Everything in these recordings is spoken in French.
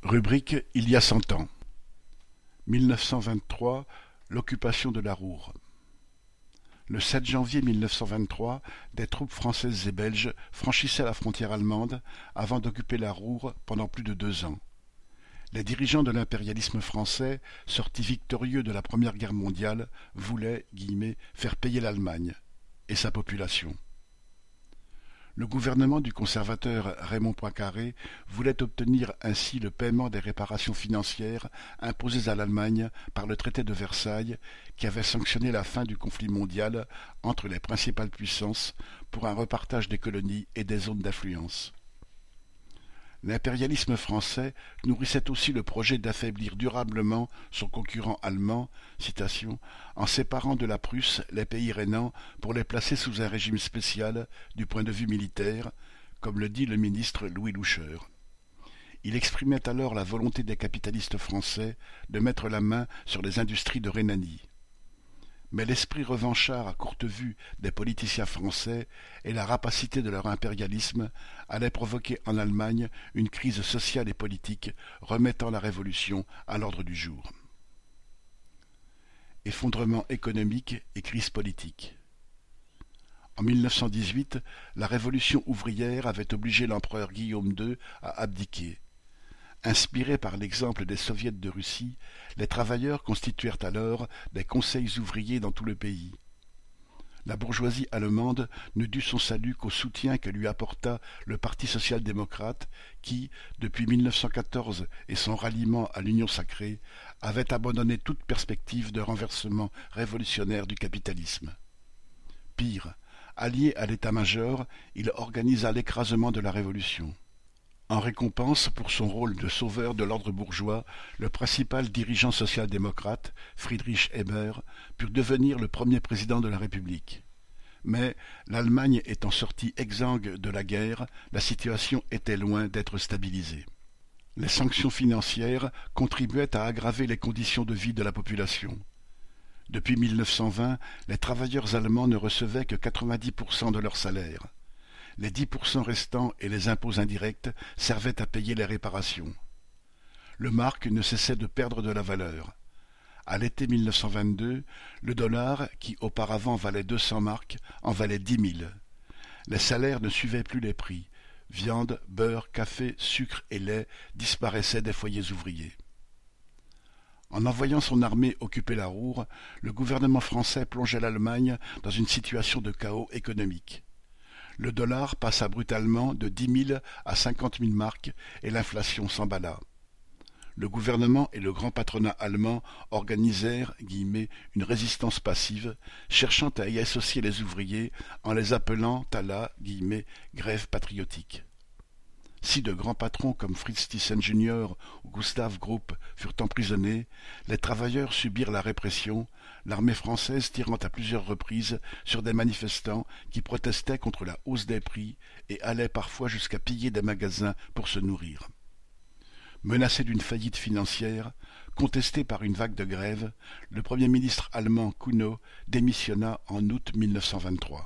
Rubrique Il y a 100 ans. 1923, l'occupation de la Roure. Le 7 janvier 1923, des troupes françaises et belges franchissaient la frontière allemande avant d'occuper la Roure pendant plus de 2 ans. Les dirigeants de l'impérialisme français, sortis victorieux de la Première Guerre mondiale, voulaient « faire payer l'Allemagne » et sa population. Le gouvernement du conservateur Raymond Poincaré voulait obtenir ainsi le paiement des réparations financières imposées à l'Allemagne par le traité de Versailles qui avait sanctionné la fin du conflit mondial entre les principales puissances pour un repartage des colonies et des zones d'influence. L'impérialisme français nourrissait aussi le projet d'affaiblir durablement son concurrent allemand, en séparant de la Prusse les pays rhénans pour les placer sous un régime spécial du point de vue militaire, comme le dit le ministre Louis Loucheur. Il exprimait alors la volonté des capitalistes français de mettre la main sur les industries de Rhénanie. Mais l'esprit revanchard à courte vue des politiciens français et la rapacité de leur impérialisme allaient provoquer en Allemagne une crise sociale et politique remettant la Révolution à l'ordre du jour. Effondrement économique et crise politique. En 1918, la Révolution ouvrière avait obligé l'empereur Guillaume II à abdiquer. Inspirés par l'exemple des soviets de Russie, les travailleurs constituèrent alors des conseils ouvriers dans tout le pays. La bourgeoisie allemande ne dut son salut qu'au soutien que lui apporta le Parti social-démocrate qui, depuis 1914 et son ralliement à l'Union sacrée, avait abandonné toute perspective de renversement révolutionnaire du capitalisme. Pire, allié à l'état-major, il organisa l'écrasement de la Révolution. En récompense pour son rôle de sauveur de l'ordre bourgeois, le principal dirigeant social-démocrate, Friedrich Ebert, put devenir le premier président de la République. Mais, l'Allemagne étant sortie exsangue de la guerre, la situation était loin d'être stabilisée. Les sanctions financières contribuaient à aggraver les conditions de vie de la population. Depuis 1920, les travailleurs allemands ne recevaient que 90% de leur salaire. Les 10% restants et les impôts indirects servaient à payer les réparations. Le mark ne cessait de perdre de la valeur. À l'été 1922, le dollar, qui auparavant valait 200 marks, en valait 10 000. Les salaires ne suivaient plus les prix. Viande, beurre, café, sucre et lait disparaissaient des foyers ouvriers. En envoyant son armée occuper la Roure, le gouvernement français plongeait l'Allemagne dans une situation de chaos économique. Le dollar passa brutalement de 10 000 à 50 000 marks et l'inflation s'emballa. Le gouvernement et le grand patronat allemand organisèrent « une résistance passive », cherchant à y associer les ouvriers en les appelant à la « grève patriotique ». Si de grands patrons comme Fritz Thyssen Jr. ou Gustav Krupp furent emprisonnés, les travailleurs subirent la répression, l'armée française tirant à plusieurs reprises sur des manifestants qui protestaient contre la hausse des prix et allaient parfois jusqu'à piller des magasins pour se nourrir. Menacé d'une faillite financière, contesté par une vague de grève, le premier ministre allemand Kuno démissionna en août 1923.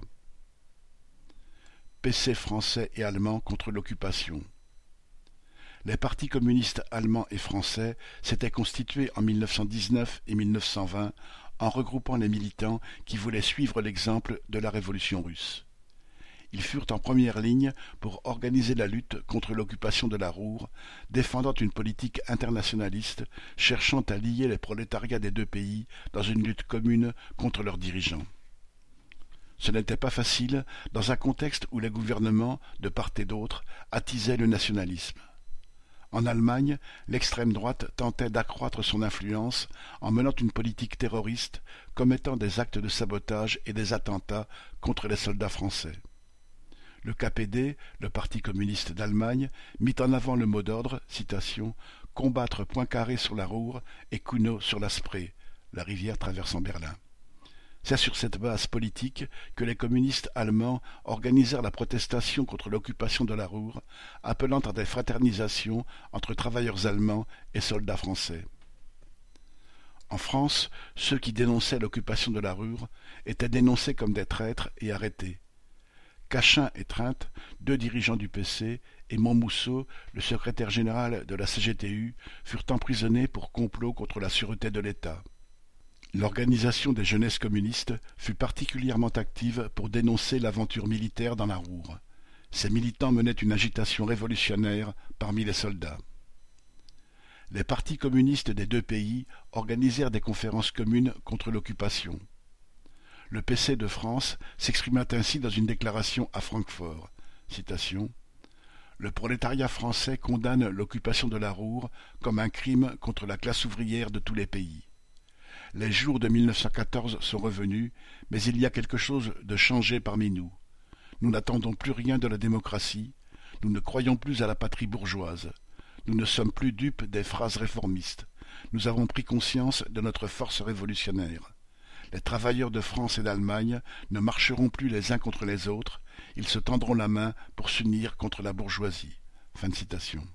PC français et allemand contre l'occupation. Les partis communistes allemands et français s'étaient constitués en 1919 et 1920 en regroupant les militants qui voulaient suivre l'exemple de la révolution russe. Ils furent en première ligne pour organiser la lutte contre l'occupation de la Roure, défendant une politique internationaliste cherchant à lier les prolétariats des deux pays dans une lutte commune contre leurs dirigeants. Ce n'était pas facile dans un contexte où les gouvernements, de part et d'autre, attisaient le nationalisme. En Allemagne, l'extrême droite tentait d'accroître son influence en menant une politique terroriste, commettant des actes de sabotage et des attentats contre les soldats français. Le KPD, le Parti communiste d'Allemagne, mit en avant le mot d'ordre, « combattre Poincaré sur la Roure et Kuno sur la Spree », la rivière traversant Berlin. C'est sur cette base politique que les communistes allemands organisèrent la protestation contre l'occupation de la Roure, appelant à des fraternisations entre travailleurs allemands et soldats français. En France, ceux qui dénonçaient l'occupation de la Roure étaient dénoncés comme des traîtres et arrêtés. Cachin et Treinte, deux dirigeants du PC, et Montmousseau, le secrétaire général de la CGTU, furent emprisonnés pour complot contre la sûreté de l'État. L'organisation des jeunesses communistes fut particulièrement active pour dénoncer l'aventure militaire dans la Ruhr. Ces militants menaient une agitation révolutionnaire parmi les soldats. Les partis communistes des deux pays organisèrent des conférences communes contre l'occupation. Le PC de France s'exprima ainsi dans une déclaration à Francfort. Citation. « Le prolétariat français condamne l'occupation de la Ruhr comme un crime contre la classe ouvrière de tous les pays. Les jours de 1914 sont revenus, mais il y a quelque chose de changé parmi nous. Nous n'attendons plus rien de la démocratie, nous ne croyons plus à la patrie bourgeoise. Nous ne sommes plus dupes des phrases réformistes. Nous avons pris conscience de notre force révolutionnaire. Les travailleurs de France et d'Allemagne ne marcheront plus les uns contre les autres, ils se tendront la main pour s'unir contre la bourgeoisie. » Fin de citation.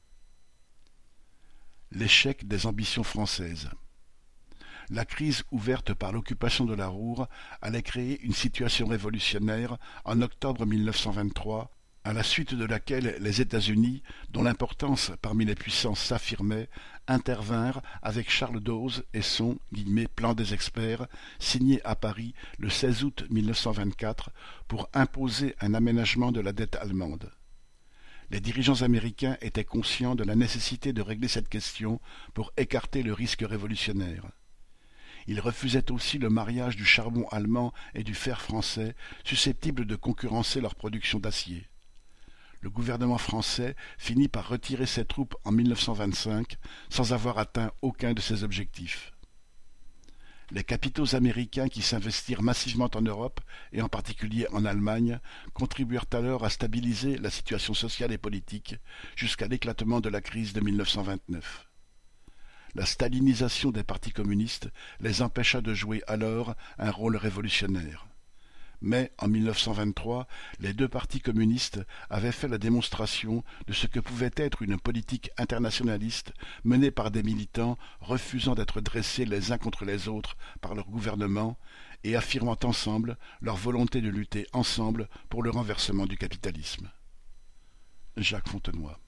L'échec des ambitions françaises. La crise ouverte par l'occupation de la Ruhr allait créer une situation révolutionnaire en octobre 1923, à la suite de laquelle les États-Unis, dont l'importance parmi les puissances s'affirmait, intervinrent avec Charles Dawes et son « plan des experts » signé à Paris le 16 août 1924 pour imposer un aménagement de la dette allemande. Les dirigeants américains étaient conscients de la nécessité de régler cette question pour écarter le risque révolutionnaire. Ils refusaient aussi le mariage du charbon allemand et du fer français, susceptibles de concurrencer leur production d'acier. Le gouvernement français finit par retirer ses troupes en 1925 sans avoir atteint aucun de ses objectifs. Les capitaux américains qui s'investirent massivement en Europe, et en particulier en Allemagne, contribuèrent alors à stabiliser la situation sociale et politique jusqu'à l'éclatement de la crise de 1929. La stalinisation des partis communistes les empêcha de jouer alors un rôle révolutionnaire. Mais, en 1923, les deux partis communistes avaient fait la démonstration de ce que pouvait être une politique internationaliste menée par des militants refusant d'être dressés les uns contre les autres par leur gouvernement et affirmant ensemble leur volonté de lutter ensemble pour le renversement du capitalisme. Jacques Fontenoy.